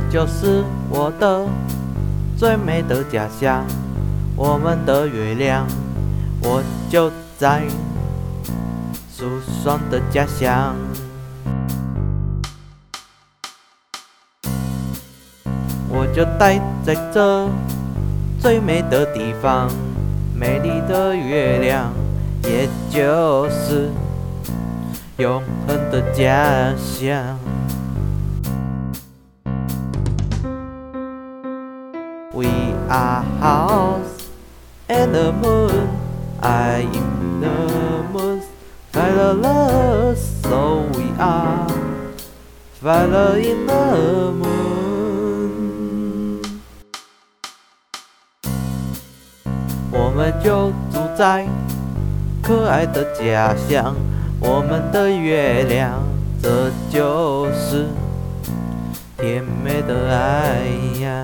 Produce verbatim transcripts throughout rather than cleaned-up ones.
就是我的最美的家鄉，我們的月亮，我就在舒爽的家鄉。我就待在這最美的地方，美麗的月亮，也就是永恆的家鄉。We are house and the moon, I am the moon, follow us, so we are following the moon. 我們就住在可愛的家鄉，我們的月亮，這就是甜美的愛呀。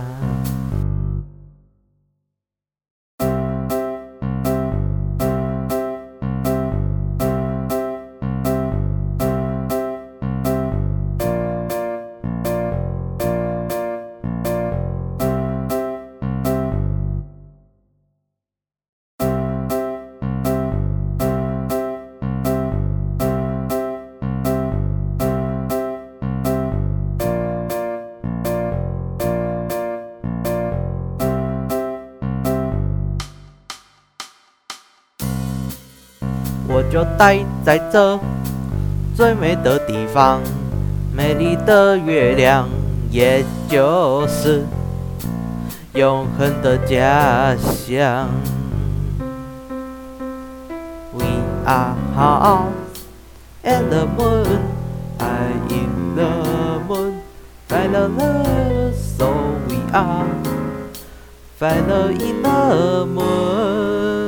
我就待在這最美的地方，美麗的月亮，也就是永恆的家鄉。We are house and the moon, I am the moon, follow us, so we are following the moon.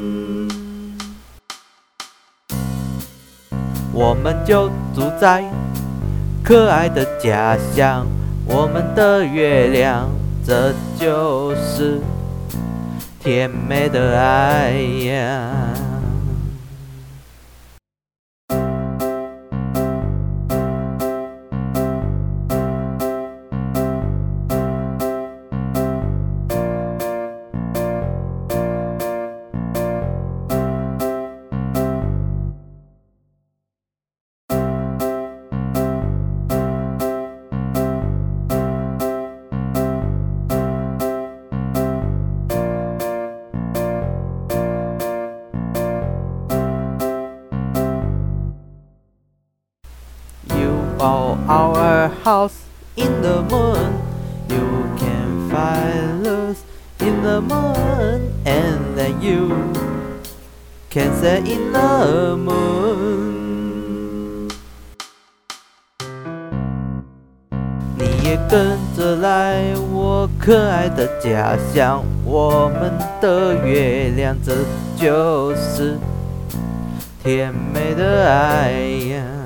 我們就住在可愛的家鄉，我們的月亮，這就是甜美的愛呀。Oh, our house in the moon, you can find us in the moon, and then you can stay in the moon. 你也跟着來我可愛的家鄉，我們的月亮，這就是甜美的愛呀。